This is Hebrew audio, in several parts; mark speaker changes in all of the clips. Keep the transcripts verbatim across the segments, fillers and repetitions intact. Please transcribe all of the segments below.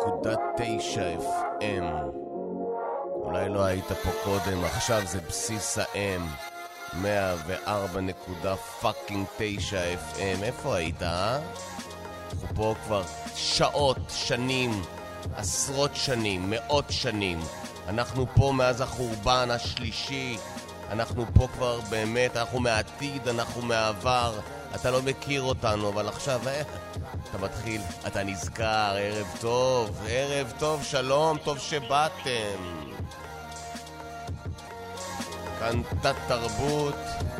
Speaker 1: נקודה תשע אף אם. אולי לא היית פה קודם, עכשיו זה בסיס ה-M. מאה וארבע נקודה תשע אף אם. איפה היית, אה? אנחנו פה כבר שעות, שנים, עשרות שנים, מאות שנים. אנחנו פה מאז החורבן השלישי. אנחנו פה כבר באמת, אנחנו מהעתיד, אנחנו מהעבר. אתה לא מכיר אותנו, אבל עכשיו, אה, אתה מתחיל, אתה נזכר, ערב טוב, ערב טוב, שלום, טוב שבאתם. כאן תת תרבות.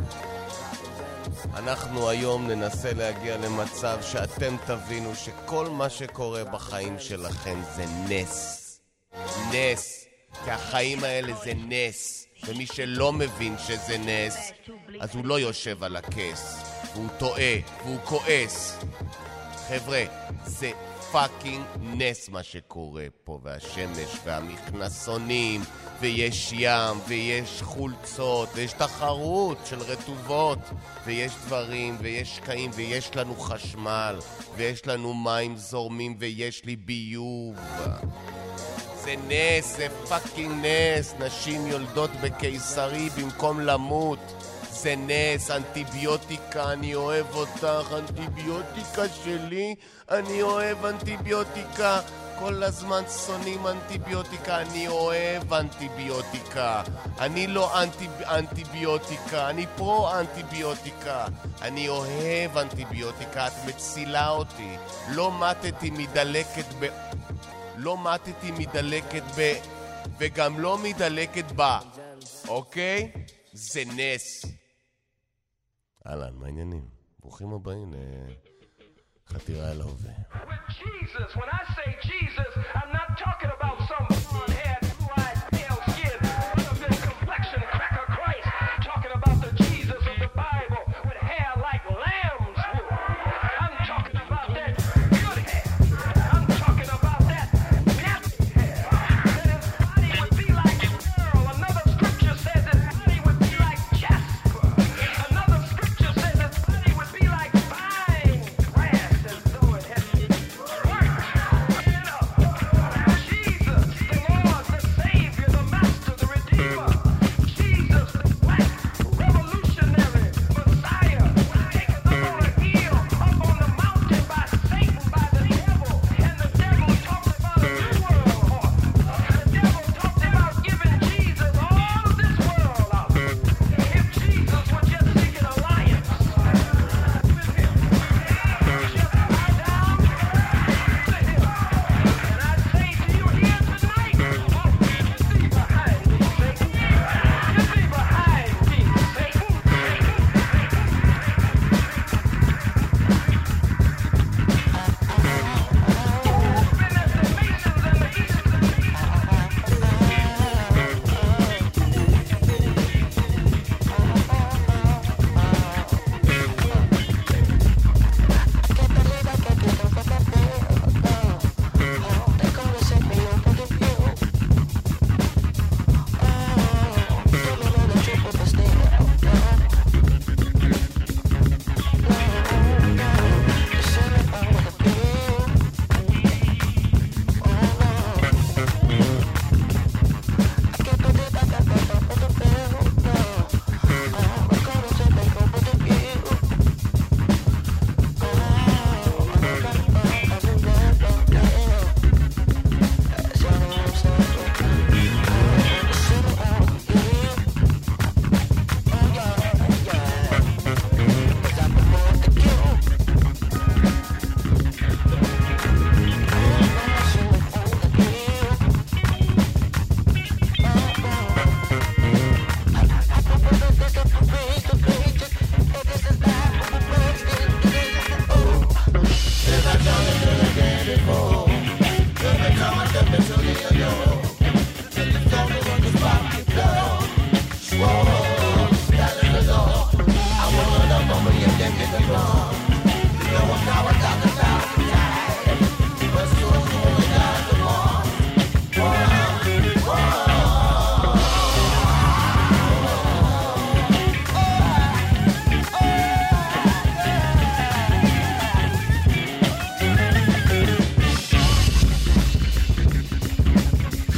Speaker 1: אנחנו היום ננסה להגיע למצב שאתם תבינו שכל מה שקורה בחיים שלכם זה נס. נס. כי החיים האלה זה נס. ומי שלא מבין שזה נס, אז הוא לא יושב על הכס. והוא טועה, והוא כועס. חבר'ה, זה פאקינג נס מה שקורה פה, והשמש והמכנסונים, ויש ים, ויש חולצות, ויש תחרות של רטובות, ויש דברים, ויש קעים, ויש לנו חשמל, ויש לנו מים זורמים, ויש לי ביוב. זה נס, זה פאקינג נס. נשים יולדות בקיסרי במקום למות. זה נס, אנטיביוטיקה, אני אוהב אותך, אנטיביוטיקה שלי, אני אוהב אנטיביוטיקה. כל הזמן שונאים אנטיביוטיקה, אני אוהב אנטיביוטיקה. אני לא אנטי, אנטיביוטיקה, אני פרו אנטיביוטיקה. אני אוהב אנטיביוטיקה, את מצילה אותי. לא מתתי מדלקת ב... לא מתתי מדלקת ב... וגם לא מדלקת בה. אוקיי? זה נס. אהלן, מה העניינים? ברוכים הבאים לחתירה אל ההווה.
Speaker 2: With Jesus, when I say Jesus, I'm not talking about some blonde-haired, blue-eyed, pale skin, with a complexion cracker Christ. I'm talking about the Jesus of the Bible with hair like lamb's wool. I'm talking about that good hair. I'm talking about that nappy hair. That his body would be like pearl. Another scripture says his body would be like jasper. Another scripture says his body would be like fine brass, as though it had worked.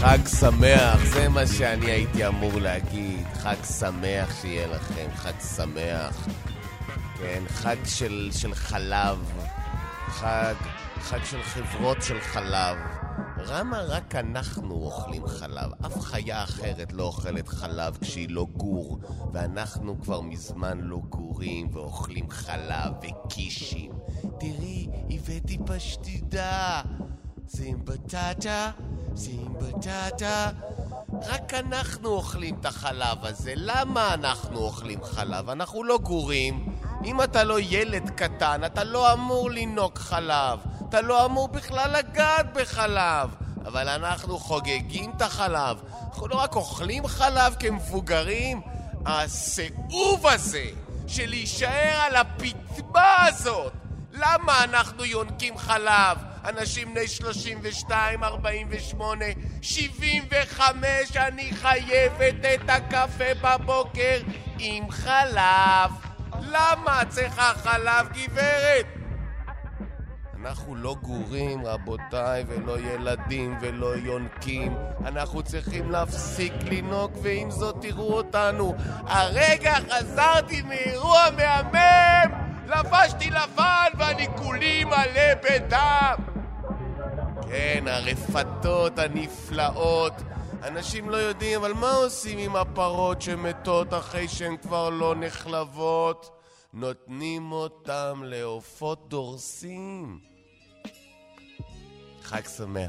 Speaker 1: חג שמח, זה מה שאני הייתי אמור להגיד. חג שמח שיהיה לכם, חג שמח. כן, חג של, של חלב. חג, חג של חברות של חלב. למה רק אנחנו אוכלים חלב? אף חיה אחרת לא אוכלת חלב כשהיא לא גור, ואנחנו כבר מזמן לא גורים ואוכלים חלב וקישים. תראי, הבאתי פשטידה. זה עם בטטה, זה עם בטטה. רק אנחנו אוכלים את החלב הזה. למה אנחנו אוכלים חלב? אנחנו לא גורים. אם אתה לא ילד קטן, אתה לא אמור לנוק חלב. אתה לא אמור בכלל לגעת בחלב. אבל אנחנו חוגגים את החלב. אנחנו לא רק אוכלים חלב כמבוגרים. הסיאוב הזה של להישאר על הפתמה הזאת. למה אנחנו יונקים חלב? אנשים בני שלושים ושתיים, ארבעים ושמונה, שבעים וחמש, אני חייבת את הקפה בבוקר עם חלב. למה צריכה חלב, גברת? אנחנו לא גורים, רבותיי, ולא ילדים ולא יונקים. אנחנו צריכים להפסיק לנוק, ועם זאת תראו אותנו. הרגע חזרתי מאירוע מהמם, לבשתי לבן ואני כולי מלא בדם. כן, הרפתות הנפלאות. אנשים לא יודעים, אבל מה עושים עם הפרות שמתות אחרי שהן כבר לא נחלבות? נותנים אותם לעופות דורסים. חג שמח.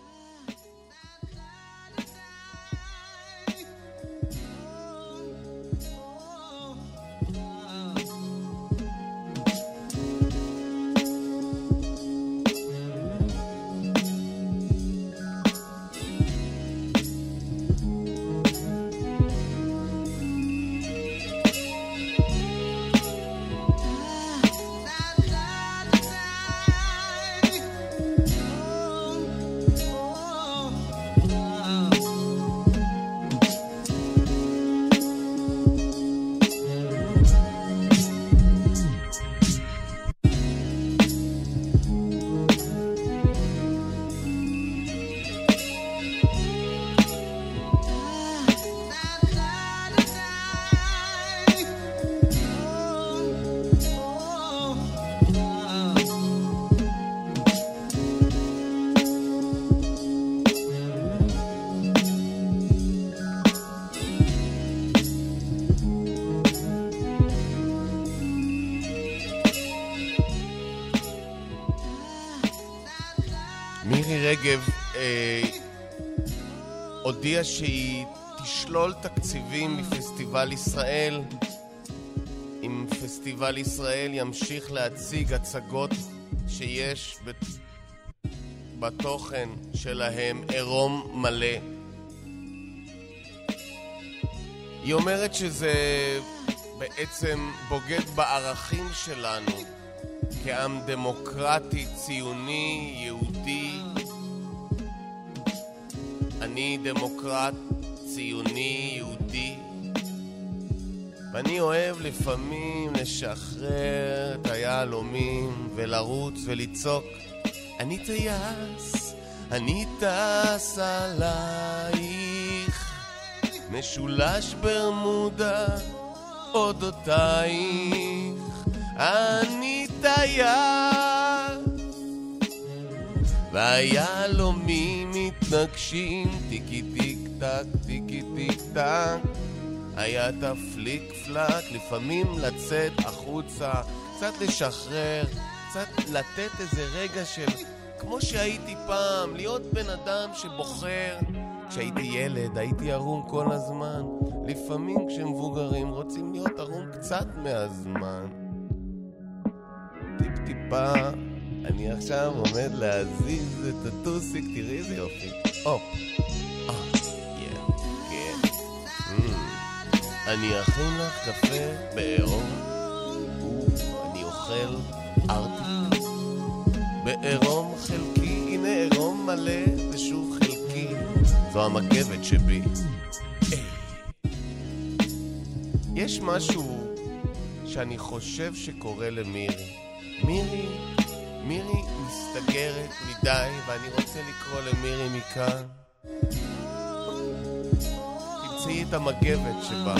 Speaker 1: מירי רגב אה, הודיעה שהיא תשלול תקציבים מפסטיבל ישראל. אם פסטיבל ישראל ימשיך להציג הצגות שיש בתוכן שלהם עירום מלא. היא אומרת שזה בעצם בוגד בערכים שלנו כעם דמוקרטי, ציוני, יהודי. אני דמוקרט, ציוני, יהודי. ואני אוהב לפעמים לשחרר את היהלומים ולרוץ ולצעוק, אני טייס, אני טס עלייך, משולש ברמודה אודותייך, אני טייס. והיהלומים מתנגשים, טיקי טיק טק, טיקי טיק טק. היה תפליק פלק, לפעמים לצאת החוצה, קצת לשחרר, קצת לתת איזה רגע של כמו שהייתי פעם, להיות בן אדם שבוחר. כשהייתי ילד הייתי ערום כל הזמן. לפעמים כשמבוגרים רוצים להיות ערום קצת מהזמן. טיפ טיפה. אני עכשיו עומד להזיז את הטוסיק, תראי איזה יופי. הופ. אה, יא, כן. אני אכין לך קפה בעירום. אני אוכל ארטיק בעירום חלקי. הנה עירום מלא ושוב חלקי. זו המגבת שבי. יש משהו שאני חושב שקורה למירי. מירי, מירי מסתגרת מדי, ואני רוצה לקרוא למירי מכאן. תמצאי את המגבת שבה.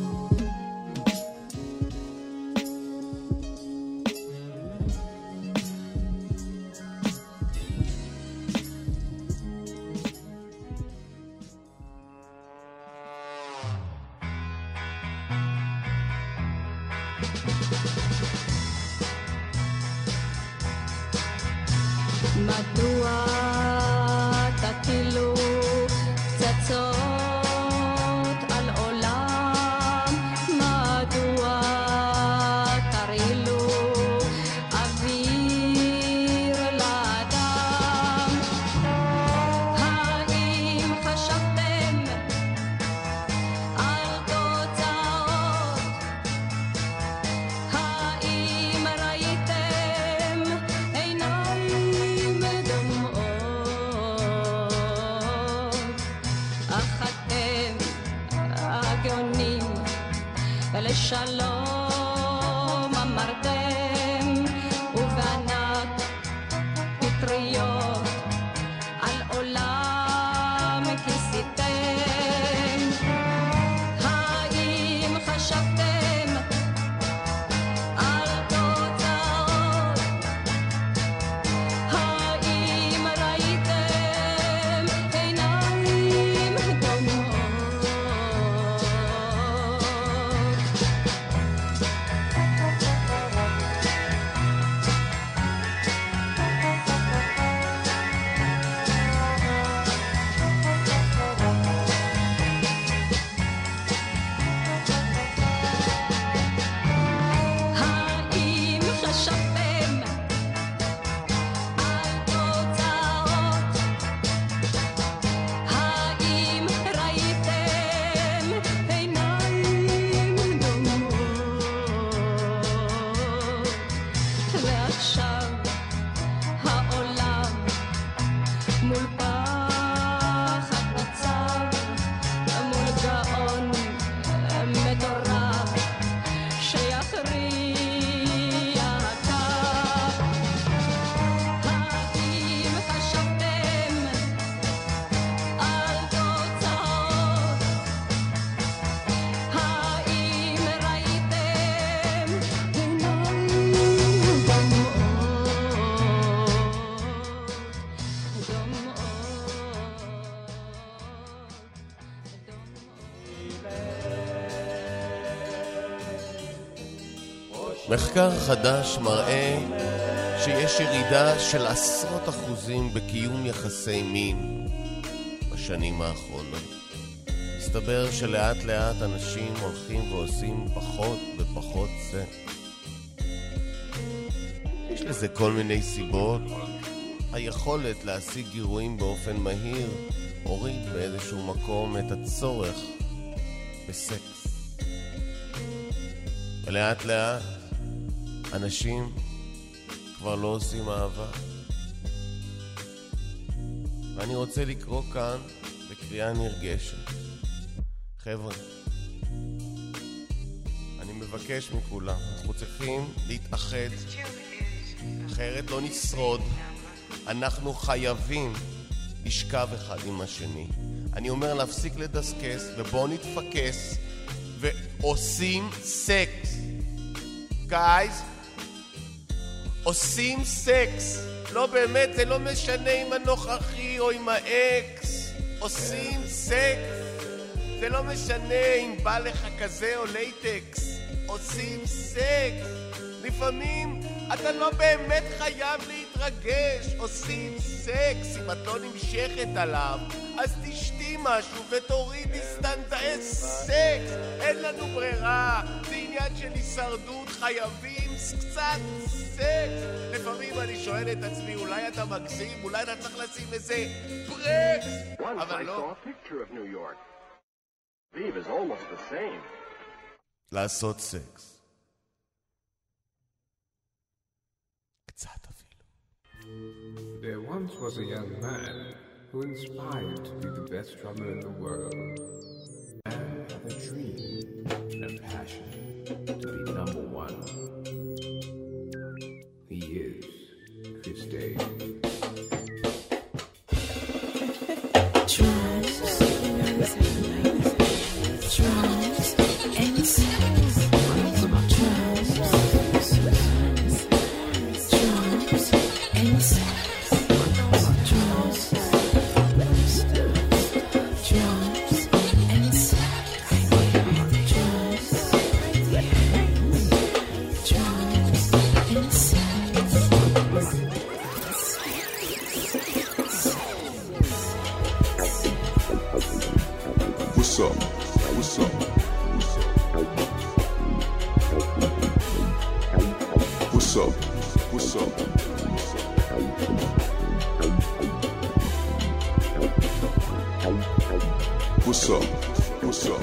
Speaker 3: מדוע תטילו פצצות על עולם? מדוע תרעילו אוויר לאדם? האם חשבתם על תוצאות? האם ראיתם עיניים אך אתם הגאונים לשלום אמרתם ובענק פטריות על עולם כיסיתם. האם חשבתם על תוצאות? האם ראיתם עיניים דומעות? האם חשבתם על תוצאות? האם ראיתם עיניים דומעות? ועכשיו העולם מול פחד ניצב, מול גאון מטורף שיכריע קו. האם חשבתם על תוצאות? האם ראיתם עיניים
Speaker 1: מחקר חדש מראה שיש ירידה של עשרות אחוזים בקיום יחסי מין בשנים האחרונות. מסתבר שלאט לאט אנשים הולכים ועושים פחות ופחות זה. יש לזה כל מיני סיבות. היכולת להשיג גירויים באופן מהיר הוריד באיזשהו מקום את הצורך בסקס. ולאט לאט אנשים כבר לא עושים אהבה. ואני רוצה לקרוא כאן בקריאה נרגשת. חבר'ה, אני מבקש מכולם, אנחנו צריכים להתאחד, אחרת לא נשרוד. אנחנו חייבים לשכב אחד עם השני. אני אומר להפסיק לדסקס ובואו נתפקס ועושים סקס. גייז, עושים סקס. לא באמת, זה לא משנה עם הנוכחי או עם האקס. עושים סקס. זה לא משנה אם בא לך כזה או לייטקס. עושים סקס. לפעמים אתה לא באמת חייב להתרגש. עושים סקס. אם את לא נמשכת עליו, אז תשתי משהו ותורידי סטנדרט סקס. אין לנו ברירה. זה עניין של הישרדות. חייבים קצת סקס. לפעמים אני שואל את עצמי, אולי אתה מגזים, אולי אתה צריך לשים איזה ברקס. אבל לא. לעשות סקס. קצת אפילו.
Speaker 4: There once was a young man who inspired to be the best drummer in the world and had a dream and a passion to be number one. He is Chris Dave.
Speaker 5: Drums, you know, What's up? What's up? What's up? What's up? What's up? What's up?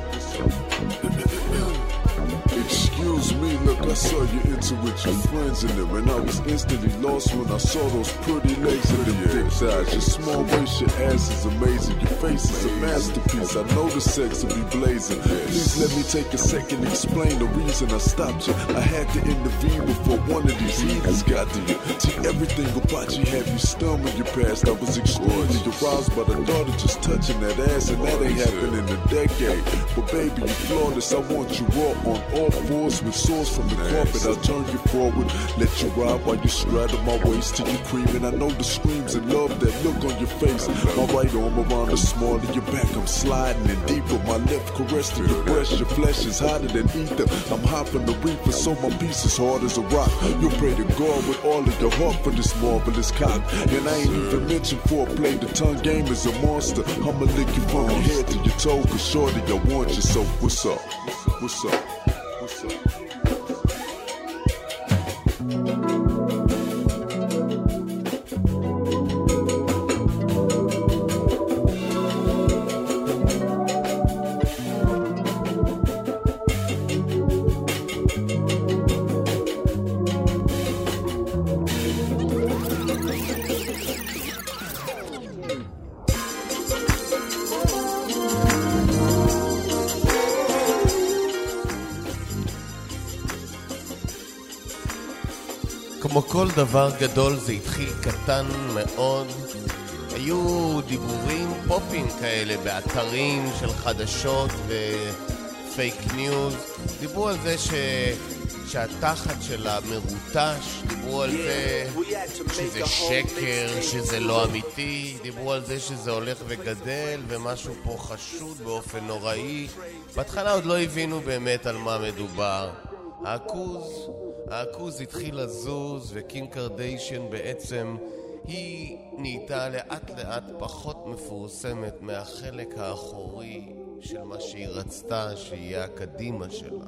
Speaker 5: Excuse me, look, I saw you into with your friends in there, and I was instantly lost when I saw those pretty legs and them thick thighs. Your small waist, your ass is amazing. Your face is a masterpiece. I know the sex will be blazing. Please let me take a second to explain the reason I stopped you. I had to intervene before one of these heathens got to you. See, everything about you had me stunned when you passed. I was extremely aroused by the thought of just touching that ass, and that ain't happened in a decade. But baby, you flawless. I want you raw on all fours with swords from the carpet. I'll turn you forward, let you ride while you straddle my waist till you creaming. I know the screams and love, that look on your face. My right arm around the small of your back, I'm sliding in deeper. My left caress to your breast, your flesh is hotter than ether. I'm hot from the reaper, so my piece is hard as a rock. You pray to God with all of your heart for this marvelous cock. And I ain't even mentioned foreplay, the tongue game is a monster. I'ma lick you from your head to your toe, cause shorty, I want you, so what's up? What's up? What's up?
Speaker 1: כמו כל דבר גדול זה התחיל קטן מאוד. היו דיבורים פופים כאלה באתרים של חדשות ופייק ניוז. דיברו על זה ש... שהתחת שלה מרוטש, דיברו על זה שזה שקר, שזה לא אמיתי, דיברו על זה שזה הולך וגדל ומשהו פה חשוד באופן נוראי. בהתחלה עוד לא הבינו באמת על מה מדובר. העכוז, העכוז התחיל לזוז, וקים קרדיישן בעצם היא נהייתה לאט לאט פחות מפורסמת מהחלק האחורי של מה שהיא רצתה שיהיה הקדימה שלה.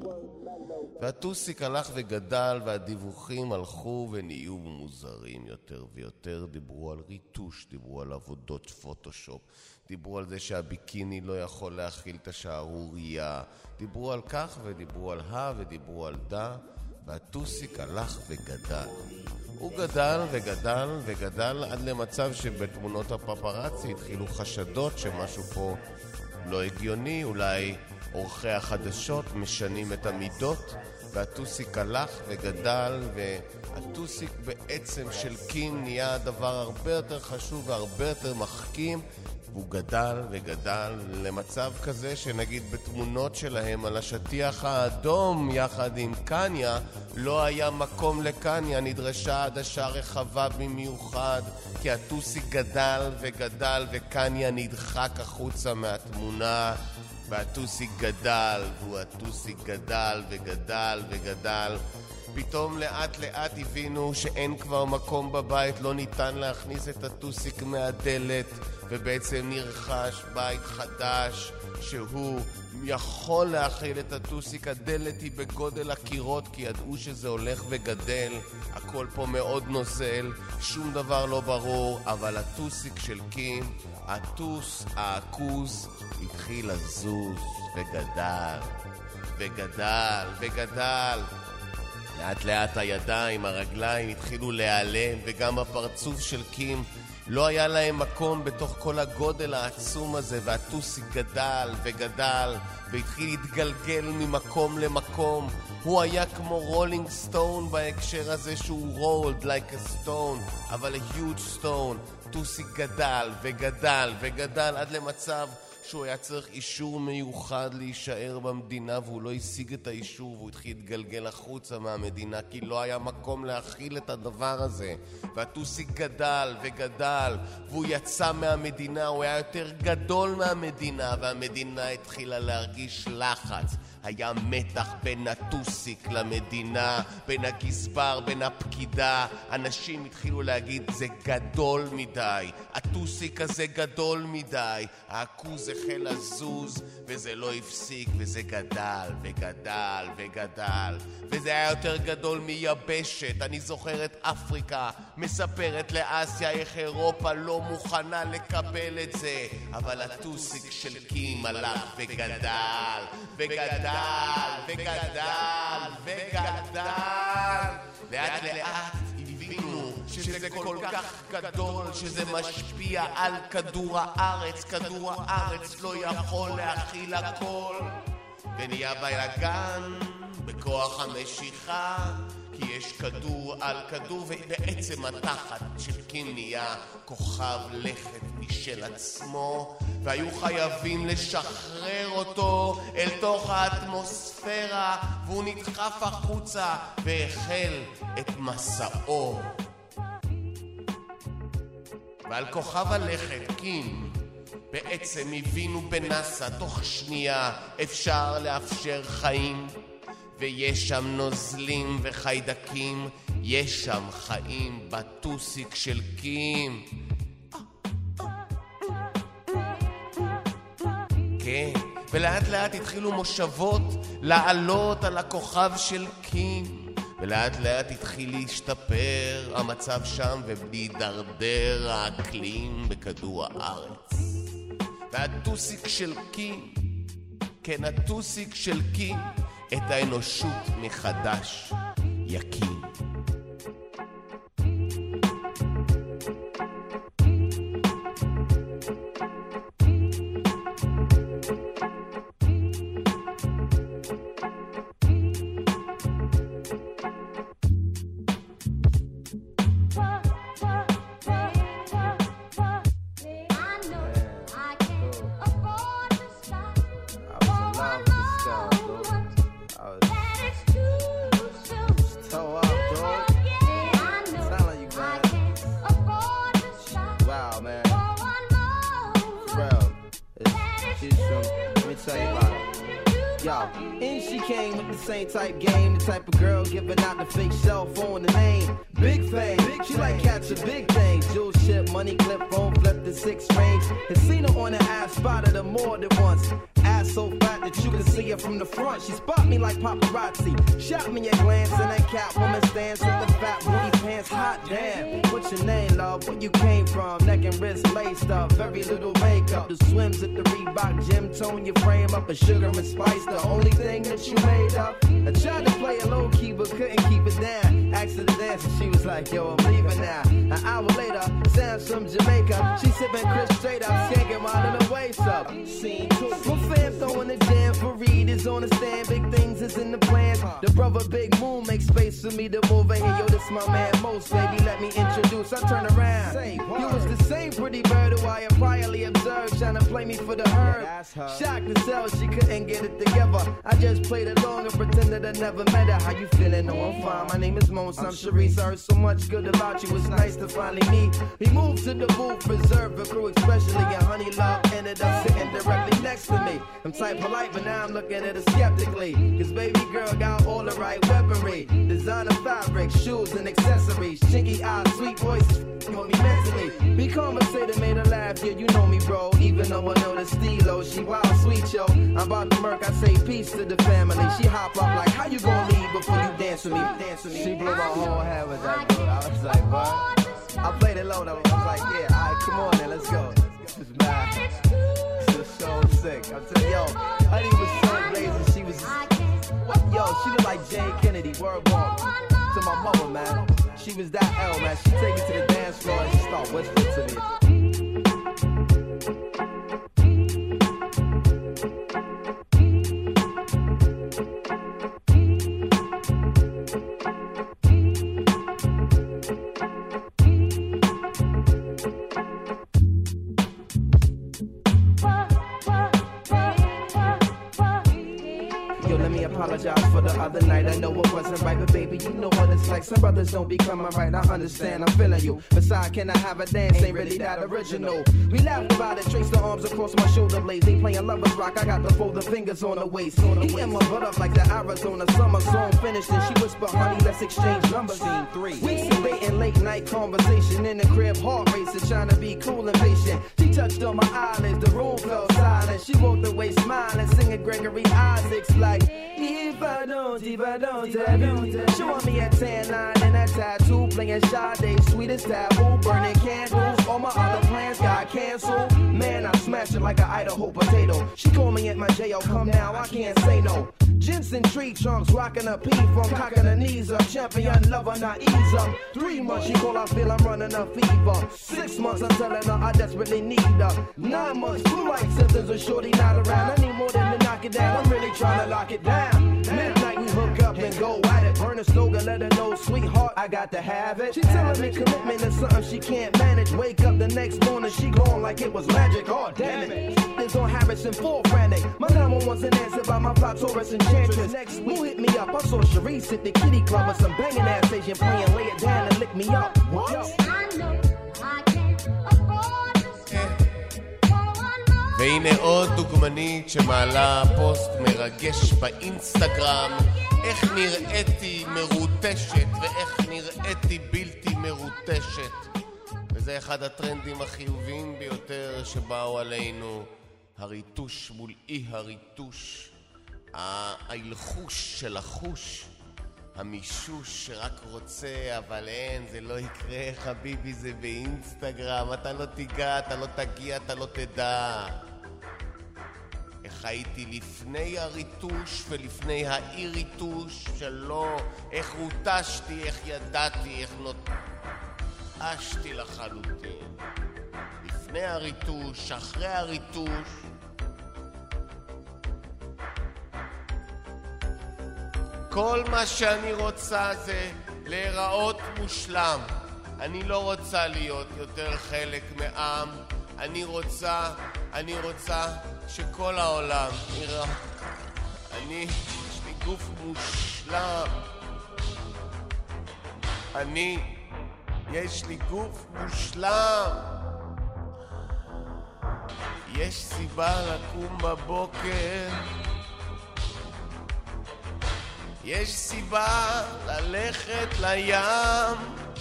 Speaker 1: והטוסיק הלך וגדל, והדיווחים הלכו ונהיו מוזרים יותר ויותר. דיברו על ריטוש, דיברו על עבודות פוטושופ, דיברו על זה שהביקיני לא יכול להכיל את השערורייה, דיברו על כך ודיברו על ה ודיברו על דה, והטוסיק הלך וגדל. הוא גדל וגדל וגדל עד למצב שבתמונות הפפרצי התחילו חשדות שמשהו פה לא הגיוני, אולי עורכי החדשות משנים את המידות, והטוסיק הלך וגדל, והטוסיק בעצם של קים נהיה הדבר הרבה יותר חשוב והרבה יותר מחכים, והוא גדל וגדל למצב כזה שנגיד בתמונות שלהם על השטיח האדום יחד עם קניה לא היה מקום לקניה, נדרשה עדשה רחבה במיוחד, כי הטוסיק גדל וגדל וקניה נדחק החוצה מהתמונה, והטוסיק גדל, והוא הטוסיק גדל וגדל וגדל. פתאום לאט לאט הבינו שאין כבר מקום בבית, לא ניתן להכניס את הטוסיק מהדלת, ובעצם נרכש בית חדש שהוא יכול להכיל את הטוסיק. הדלת היא בגודל הקירות, כי ידעו שזה הולך וגדל, הכל פה מאוד נוזל, שום דבר לא ברור, אבל הטוסיק של קים, הטוס, העכוז, התחיל לזוז וגדל וגדל וגדל. לאט לאט הידיים, הרגליים התחילו להיעלם, וגם הפרצוף של קים לא היה להם מקום בתוך כל הגודל העצום הזה, והטוסיק גדל וגדל והתחיל להתגלגל ממקום למקום. הוא היה כמו רולינג סטון בהקשר הזה שהוא rolled like a stone, אבל a huge stone. טוסיק גדל וגדל וגדל עד למצב שהוא היה צריך אישור מיוחד להישאר במדינה, והוא לא השיג את האישור, והוא התחיל להתגלגל החוצה מהמדינה, כי לא היה מקום להכיל את הדבר הזה. והטוסיק גדל וגדל, והוא יצא מהמדינה, הוא היה יותר גדול מהמדינה, והמדינה התחילה להרגיש לחץ. היה מתח בין הטוסיק למדינה, בין הגזבר, בין הפקידה. אנשים התחילו להגיד זה גדול מדי, הטוסיק הזה גדול מדי. העכוז החל לזוז וזה לא הפסיק, וזה גדל וגדל וגדל, וזה היה יותר גדול מיבשת. אני זוכר את אפריקה מספרת לאסיה איך אירופה לא מוכנה לקבל את זה, אבל הטוסיק של קים הלך וגדל וגדל וגדל וגדל. לאט לאט הבינו שזה כל כך גדול שזה משפיע על כדור הארץ. כדור הארץ לא יכול להכיל הכל, ונהיה בלגן בכוח המשיכה, כי יש כדור על כדור, ובעצם התחת של קים נהיה כוכב לכת משל עצמו, והיו חייבים לשחרר אותו אל תוך האטמוספירה, והוא נדחף החוצה והחל את מסעו. ועל כוכב הלכת קים בעצם הבינו בנאסא תוך שנייה אפשר לאפשר חיים, ויש שם נוזלים וחיידקים, יש שם חיים בטוסיק של קים. כן, ולאט לאט התחילו מושבות לעלות על הכוכב של קים, ולאט לאט התחיל להשתפר המצב שם ולהידרדר האקלים בכדור הארץ. והטוסיק של קים, כן, הטוסיק של קים את האנושות מחדש יקים.
Speaker 6: Type game, the type of girl giving out the fake cell phone, the name Big Fame. Big she like catch a big thing, jewel ship, money clip, phone flip the six range. Has seen her on the ass, spotted her more than once. Ass so fat that you can see her from the front. She spot me like paparazzi, shot me a glance, and that cat woman stands with the fat booty pants. Hot damn, what's your name, love? Where you came from? Neck and wrist laced up, very little makeup. The swims at the Reebok gym, tone your frame up, a sugar and spice, the only thing that you made up. I tried to play a low key but couldn't keep it down. Asked her to dance and she was like, yo, I'm leaving now. An hour later, sounds from Jamaica. She sipping Chris straight up, skanking while in the waist up. Scene two. My fam throwing the jam for Reed is on the stand. Big things is in the plans. The brother Big Moon makes space for me to move in here. Yo, this my man Most, baby, let me introduce. I turn around. You was the same pretty bird who I had priorly observed, trying to play me for the herb. Shocked to tell she couldn't get it together. I just played along and pretended I never met her. How you feeling? No, I'm fine. My name is Mons. I'm Sharice. I heard so much good about you. It's nice to finally meet. He moved to the booth, preserved the crew, especially and Honey Love ended up sitting directly next to me. I'm type polite, but now I'm looking at her skeptically. Cause baby girl got all the right weaponry, designer fabric, shoes and accessories, chinky eyes, sweet voice, on me mentally. Be conversated, made her laugh. Yeah, you know me, bro. Even though I know the stilo, she wild sweet, yo. I'm about to murk. I say peace to the family. She hop up like, how you gonna leave before you dance with me? Dance with me. She blew my whole head with that dude. I was like, what? I played it low though. I was like, yeah, alright, come on then, let's go. This is mad. This is so sick. I'm telling yo, Honey was so blazing. She was, yo, she looked like Jane Kennedy. Word ball to my mother, man. She was that L, man. She take it to the dance floor and she start whispering to me. apologize for the other night. I know it wasn't right, but baby, you know what it's like. Some brothers don't be coming right. I understand, I'm feeling you. Besides, can I have a dance? Ain't really that original. We laughed about it, trace the arms across my shoulder blades. Ain't playing lovers rock, I got to fold the fingers on the waist. Eating my butt up like the Arizona summer song finished. And she whispered, honey, let's exchange numbers. Scene three. We debating late night conversation in the crib, heart racing, trying to be cool and patient. She touched on my eyelids, the room fell silent. She walked away smiling, singing Gregory Isaacs like, if I don't, if I don't, I don't. Showing me a tan line and a tattoo, playing Sade, sweet as taboo, burning candles. All my other plans got canceled. Man, I smashed it like an Idaho potato. She called me at my J O, come now, I can't say no. Jensen tree trunks, rocking a pee from cocking her knees up. Champion lover, not ease up. Three months, she call, I feel I'm running a fever. Six months, I'm telling her I desperately need her. Nine months, flu like symptoms of shorty not around. I need more than to knock it down, I'm really trying to lock it down. Midnight, we hook up and go at it. Burn a slogan, let her know, sweetheart, I got to have it. She telling me commitment is something she can't manage. Wake up the next morning, she gone like it was magic. Oh, damn it. It's on Harrison, full frantic. My number wasn't answered by my fly Taurus enchantress. Next week, who hit me up? I saw Sharice at the kitty club with some banging ass Asian playing, lay it down and lick me up. What?
Speaker 3: I know I can't afford to stay for one more.
Speaker 1: והנה עוד דוגמנית שמעלה פוסט מרגש באינסטגרם, איך נראיתי מרוטשת ואיך נראיתי בלתי מרוטשת. וזה אחד הטרנדים החיוביים ביותר שבאו עלינו, הריטוש מול אי הריטוש, ההלחוש של החוש, המישוש שרק רוצה אבל אין, זה לא יקרה חביבי, זה באינסטגרם, אתה לא תיגע, אתה לא תגיע, אתה לא תדע. איך הייתי לפני הריטוש ולפני האי-ריטוש שלא, איך רוטשתי, איך ידעתי, איך נוטשתי לחלוטין. לפני הריטוש, אחרי הריטוש. כל מה שאני רוצה זה להיראות מושלם. אני לא רוצה להיות יותר חלק מעם. אני רוצה, אני רוצה שכל העולם יראה. אני, יש לי גוף מושלם. אני, יש לי גוף מושלם. יש סיבה לקום בבוקר. יש סיבה ללכת לים.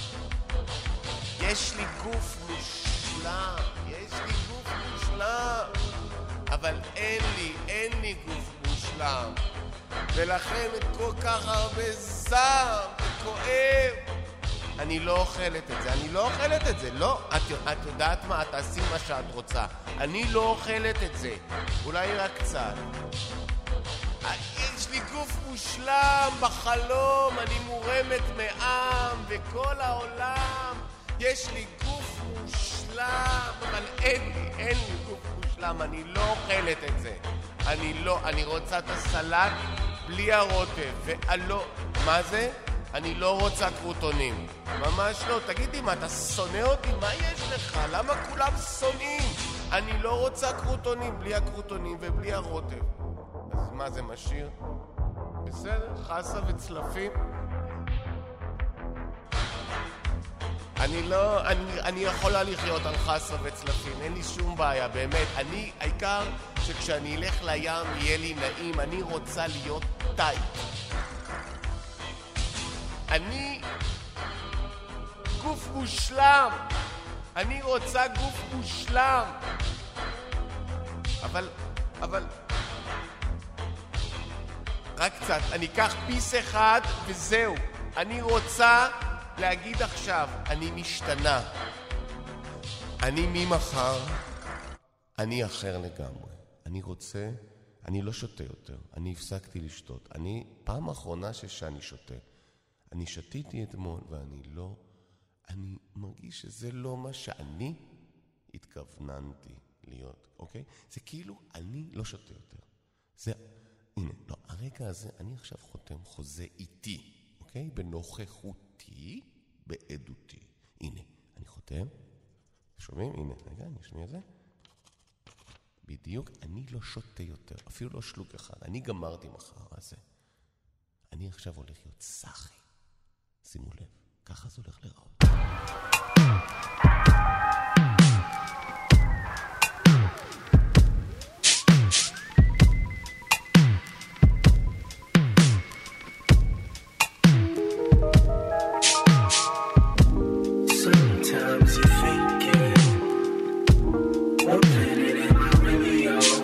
Speaker 1: יש לי גוף מושלם. יש לי גוף מושלם. אבל אין לי, אין לי גוף מושלם. ולכן כל כך הרבה זעם וכואב. אני לא אוכלת את זה, אני לא אוכלת את זה, לא. את, את יודעת מה? תעשי מה שאת רוצה. אני לא אוכלת את זה. אולי רק קצת. יש לי גוף מושלם בחלום, אני מורמת מעם וכל העולם. יש לי גוף מושלם, אבל אין לי, אין לי גוף מושלם, אני לא אוכלת את זה. אני לא, אני רוצה את הסלט בלי הרוטב, ואלו, מה זה? אני לא רוצה קרוטונים. ממש לא, תגידי מה, אתה שונא אותי? מה יש לך? למה כולם שונאים? אני לא רוצה קרוטונים, בלי הקרוטונים ובלי הרוטב. אז מה זה משאיר? בסדר, חסה וצלפים. אני לא, אני, אני יכולה לחיות על חסה וצלפים, אין לי שום בעיה, באמת. אני, העיקר שכשאני אלך לים יהיה לי נעים, אני רוצה להיות טייט. אני גוף מושלם. אני רוצה גוף מושלם. אבל, אבל... רק קצת, אני אקח פיס אחד וזהו. אני רוצה להגיד עכשיו, אני משתנה. אני ממחר, אני אחר לגמרי. אני רוצה, אני לא שותה יותר. אני הפסקתי לשתות. אני, פעם האחרונה שאני שותה, אני שתיתי אתמול ואני לא, אני מרגיש שזה לא מה שאני התכווננתי להיות, אוקיי? זה כאילו, אני לא שותה יותר. זה... הנה, לא, הרגע הזה, אני עכשיו חותם חוזה איתי, אוקיי? בנוכחותי, בעדותי. הנה, אני חותם. שומעים? הנה, רגע, אני אשמיע את זה. בדיוק, אני לא שותה יותר, אפילו לא שלוק אחד. אני גמרתי מחר הזה. אני עכשיו הולך להיות סחי. שימו לב, ככה זה הולך לראות.
Speaker 7: Sometimes you think it, what planet am I really on?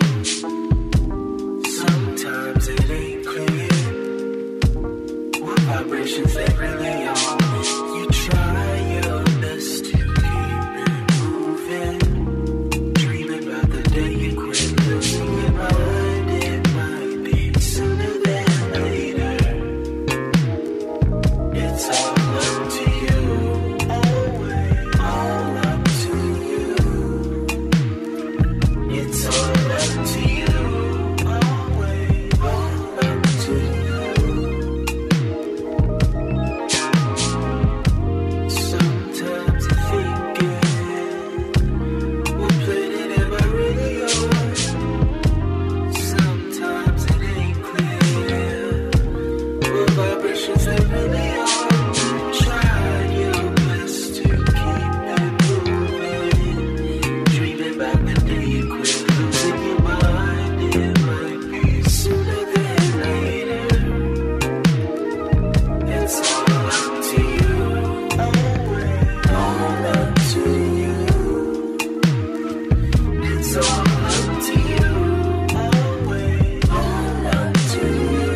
Speaker 7: Sometimes it ain't clear, what vibrations they really on. You try your best to keep it moving, dreaming about the day you quit losing your mind. It might be sooner than later. It's all up to you. All up to you. It's all up to you. Always all up to you. Sometimes I think it, what planet am I really on? Sometimes it ain't clear, what vibrations they really are. Try your best to keep it moving, dreaming about the day you quit losing your mind. It might be sooner than later. It's all up to you. Always all up to you. It's all up to you. Always all up to you.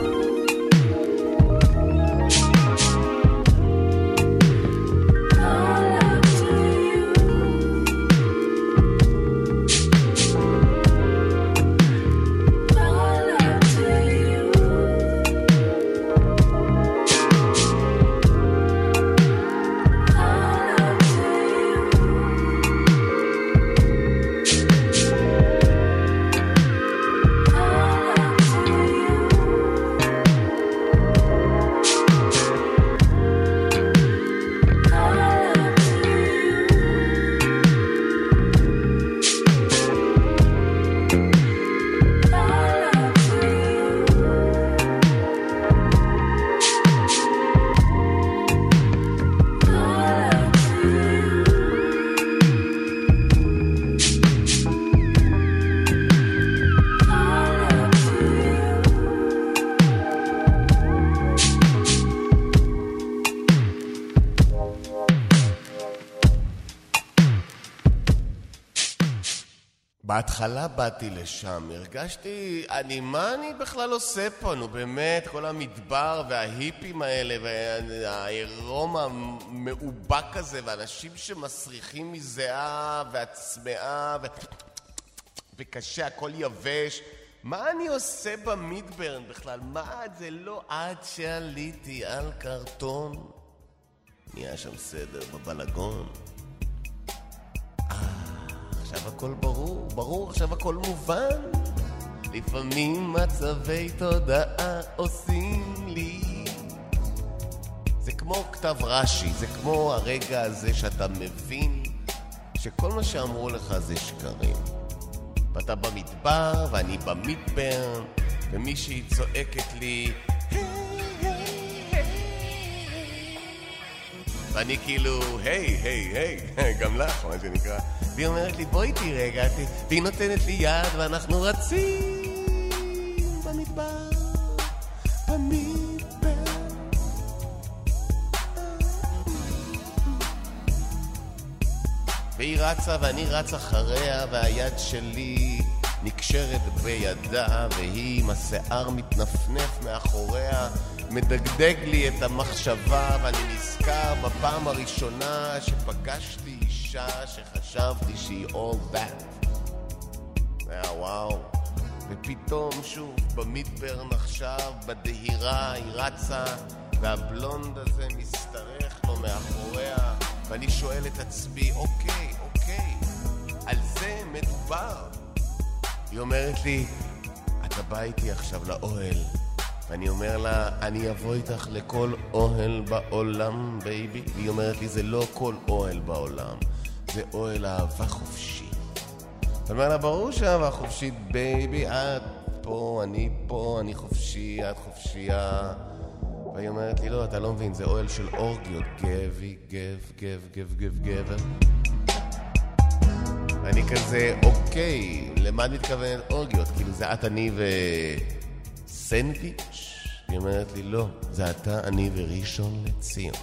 Speaker 1: בהתחלה באתי לשם, הרגשתי, אני, מה אני בכלל עושה פה? נו באמת, כל המדבר וההיפים האלה והעירום המאובק הזה ואנשים שמסריחים מזיעה והצמאה ו... וקשה, הכל יבש. מה אני עושה במידברן בכלל? מה זה לא עד שעליתי על קרטון? נהיה שם סדר בבלגון. עכשיו הכל ברור, ברור, עכשיו הכל מובן. לפעמים מצבי תודעה עושים לי. זה כמו כתב רש"י, זה כמו הרגע הזה שאתה מבין שכל מה שאמרו לך זה שקרים. ואתה במדבר ואני במדבר, ומישהי צועקת לי ואני כאילו, היי, היי, היי, גם לך, מה שנקרא. והיא אומרת לי, בואי תראי רגע, והיא נותנת לי יד, ואנחנו רצים במדבר, במדבר. והיא רצה, ואני רץ אחריה, והיד שלי נקשרת בידה, והיא עם השיער מתנפנף מאחוריה, מדגדג לי את המחשבה, ואני נזכר בפעם הראשונה שפגשתי אישה שחשבתי שהיא all that. היה וואו. ופתאום שוב במדברן עכשיו, בדהירה היא רצה, והבלונד הזה מסתרך לו מאחוריה, ואני שואל את עצמי, אוקיי, אוקיי, על זה מדובר. היא אומרת לי, אתה בא איתי עכשיו לאוהל. ואני אומר לה, אני אבוא איתך לכל אוהל בעולם, בייבי. והיא אומרת לי, זה לא כל אוהל בעולם, זה אוהל אהבה חופשית. ואני אומר לה, ברור שאהבה חופשית, בייבי, את פה, אני פה, אני חופשי, את חופשייה. והיא אומרת לי, לא, אתה לא מבין, זה אוהל של אורגיות. גבי, גב, גב, גב, גב, גבר. ואני כזה, אוקיי, למה את מתכוונת אורגיות? כאילו זה את, אני וסנדוויץ'? היא אומרת לי, לא, זה אתה, אני וראשון לציון.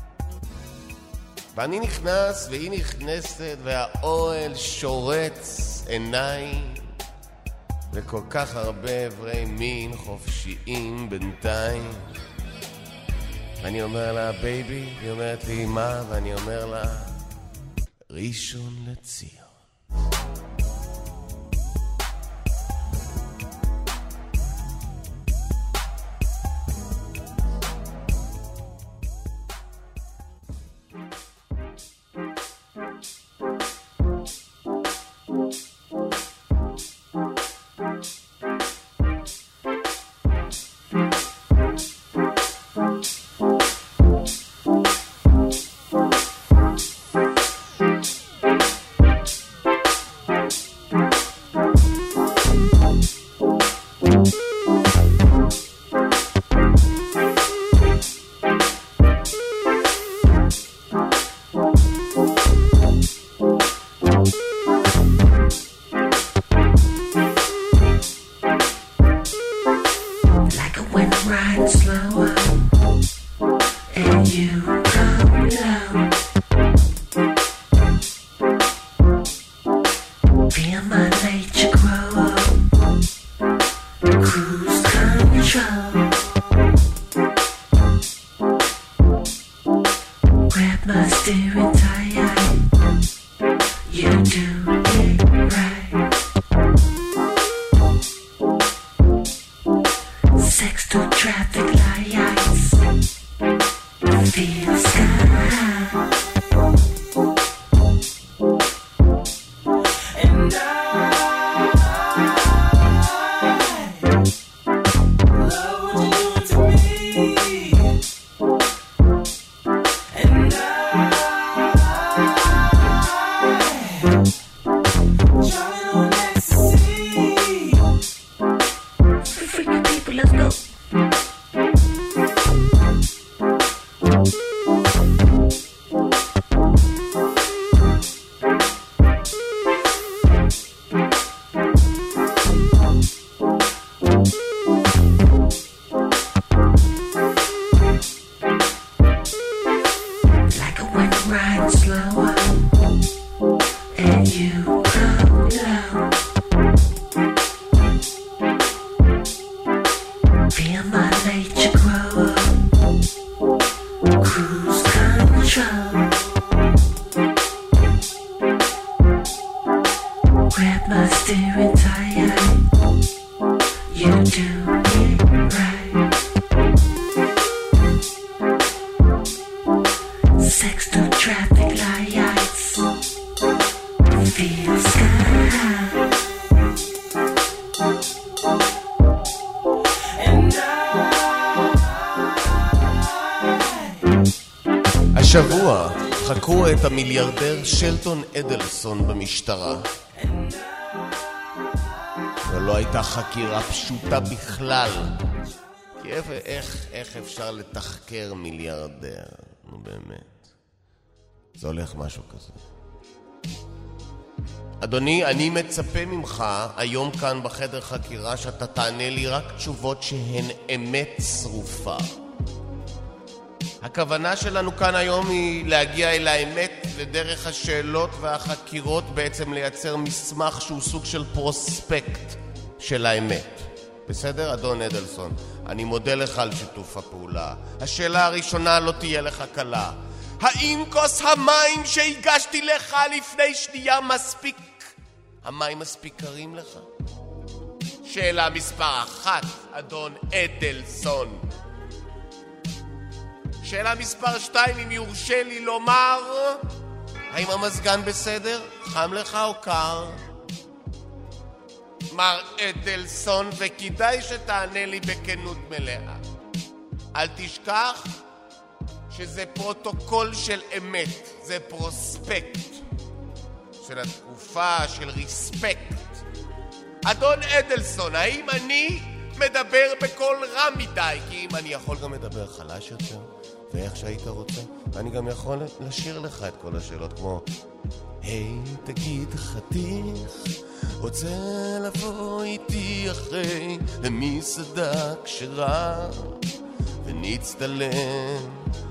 Speaker 1: ואני נכנס, והיא נכנסת, והאוהל שורץ עיניים, וכל כך הרבה עברי מין חופשיים בינתיים. ואני אומר לה, בייבי, היא אומרת לי, מה? ואני אומר לה, ראשון לציון. השבוע חקרו את המיליארדר שלטון אדלסון במשטרה. ולא הייתה חקירה פשוטה בכלל. כי איך, איך, איך אפשר לתחקר מיליארדר? נו באמת. זה הולך משהו כזה. אדוני, אני מצפה ממך היום כאן בחדר חקירה שאתה תענה לי רק תשובות שהן אמת שרופה. הכוונה שלנו כאן היום היא להגיע אל האמת ודרך השאלות והחקירות בעצם לייצר מסמך שהוא סוג של פרוספקט של האמת. בסדר, אדון אדלסון? אני מודה לך על שיתוף הפעולה. השאלה הראשונה לא תהיה לך קלה. האם כוס המים שהגשתי לך לפני שנייה מספיק? המים מספיק קרים לך? שאלה מספר אחת, אדון אדלסון. שאלה מספר שתיים, אם יורשה לי לומר, האם המזגן בסדר? חם לך או קר? מר אדלסון, וכדאי שתענה לי בכנות מלאה. אל תשכח שזה פרוטוקול של אמת, זה פרוספקט של התקופה, של ריספקט. אדון אדלסון, האם אני מדבר בקול רם מדי, כי אם אני יכול גם לדבר חלש יותר, ואיך שהיית רוצה, ואני גם יכול לשיר לך את כל השאלות, כמו היי, תגיד חתיך, רוצה לבוא איתי אחרי למסעדה כשרה, ונצטלם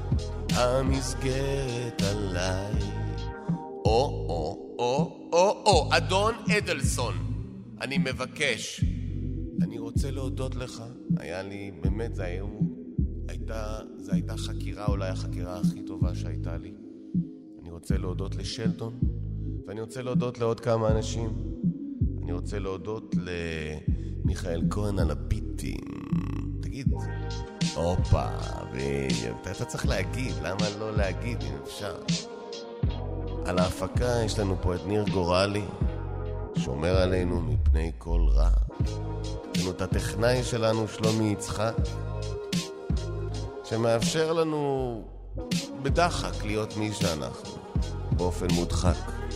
Speaker 1: המסגרת עליי. או, או, או, או, או, אדון אדלסון, אני מבקש, אני רוצה להודות לך. היה לי, באמת, זה היה, הייתה, זה הייתה חקירה, אולי החקירה הכי טובה שהייתה לי. אני רוצה להודות לשלטון, ואני רוצה להודות לעוד כמה אנשים. אני רוצה להודות למיכאל כהן על הביטים. תגיד, אופה, ואתה אתה צריך להגיד, למה לא להגיד אם אפשר? על ההפקה יש לנו פה את ניר גורלי, שומר עלינו מפני כל רע. יש לנו את הטכנאי שלנו, שלומי יצחק, שמאפשר לנו בדחק להיות מי שאנחנו, באופן מודחק.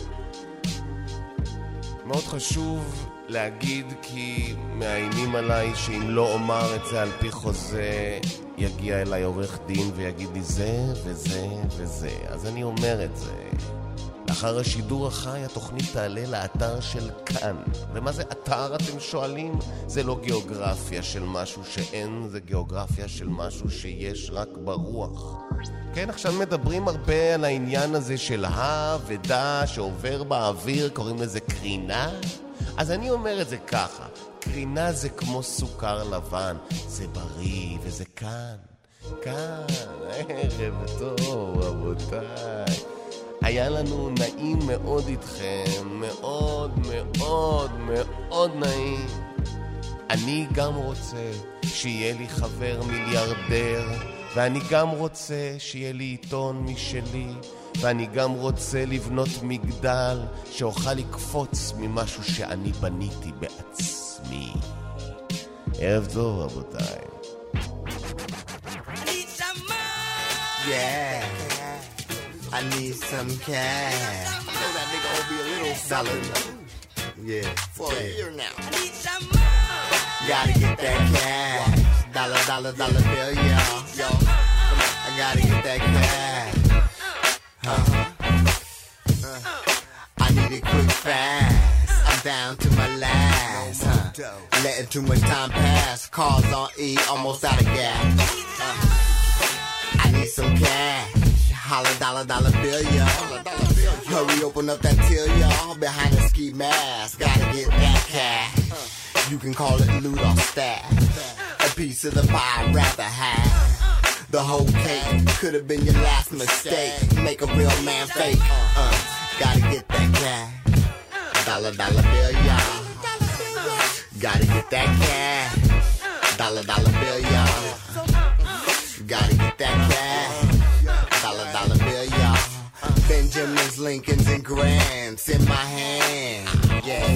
Speaker 1: מאוד חשוב להגיד, כי מאיימים עליי שאם לא אומר את זה על פי חוזה, יגיע אליי עורך דין ויגיד לי זה וזה וזה. אז אני אומר את זה. לאחר השידור החי התוכנית תעלה לאתר של כאן. ומה זה אתר אתם שואלים? זה לא גיאוגרפיה של משהו שאין, זה גיאוגרפיה של משהו שיש רק ברוח. כן, עכשיו מדברים הרבה על העניין הזה של ה ודה שעובר באוויר, קוראים לזה קרינה. אז אני אומר את זה ככה, קרינה זה כמו סוכר לבן, זה בריא וזה כאן, כאן, ערב טוב רבותיי. היה לנו נעים מאוד איתכם, מאוד מאוד מאוד נעים. אני גם רוצה שיהיה לי חבר מיליארדר, ואני גם רוצה שיהיה לי עיתון משלי, ואני גם רוצה לבנות מגדל שאוכל לקפוץ ממשהו שאני בניתי בעצמי. ערב טוב רבותיי.
Speaker 8: Yeah, I need some cash. You know that nigga owe me a little dollar. Yeah, for a year now. I need some more. Gotta get that cash. Dollar, dollar, dollar bill, y'all. Yo, I gotta get that cash. Uh-huh. Uh, I need it quick, fast. I'm down to my last. Huh? Letting too much time pass. Cars on E, almost out of gas. Uh, I need some cash. Holla, dollar, dollar bill, y'all. Hurry, open up that till, y'all. Behind the ski mask, gotta get that cash. You can call it loot or stash. A piece of the pie I'd rather have. The whole cake could have been your last mistake. Make a real man fake. Uh, gotta get that cash. Dollar, dollar bill, y'all. Gotta get that cash. Dollar, dollar bill, y'all. Gotta get that cash. Dollar, dollar bill, y'all. Benjamins, Lincolns, and Grants in my hand. Yeah.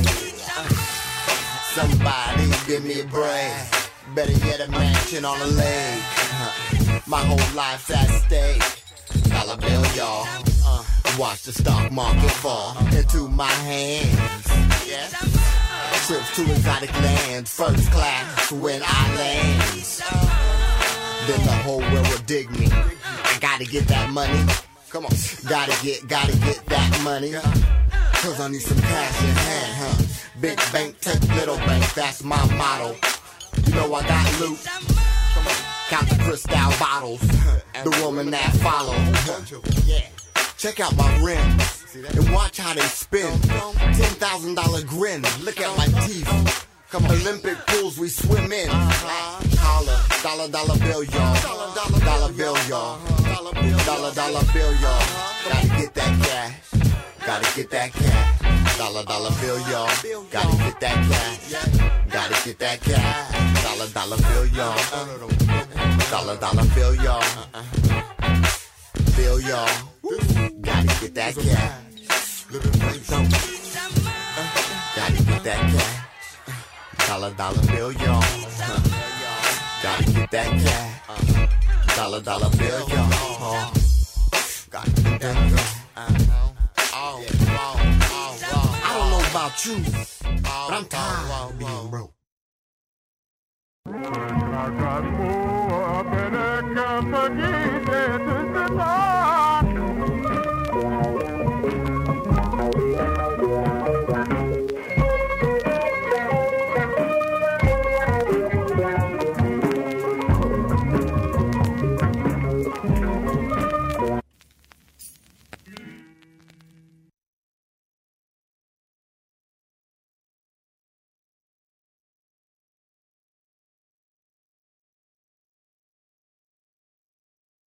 Speaker 8: Somebody give me a break. Better yet, a mansion on a lake. My whole life's at stake. Dollar bill, y'all. Uh, watch the stock market fall into my hands. Yeah. Trips to exotic lands, first class when I land. Then the whole world will dig me. I gotta get that money. Come on, gotta get, gotta get that money. Cause I need some cash in hand, huh? Big bank, take little bank, that's my motto. You know I got loot. Count the crystal bottles. The woman that follow. Yeah. Check out my rims and watch how they spin. Ten thousand dollar grin. Look at my teeth. Come on, Olympic pools we swim in. Holla, dollar dollar bill, y'all. Dollar dollar bill, y'all. Dollar dollar bill, y'all. Gotta get that cash. Gotta get that cash. Dollar dollar bill, y'all. Gotta get that cash. Gotta get that cash. Dollar dollar bill, y'all. Dollar dollar bill, y'all. Bill, y'all. Gotta get that cash. Gotta get that cash. Dollar dollar bill, y'all. Gotta get that cash. Dollar dollar bill, y'all. Gotta get that cash. I don't know about you, but I'm tired of being broke.
Speaker 9: I got more than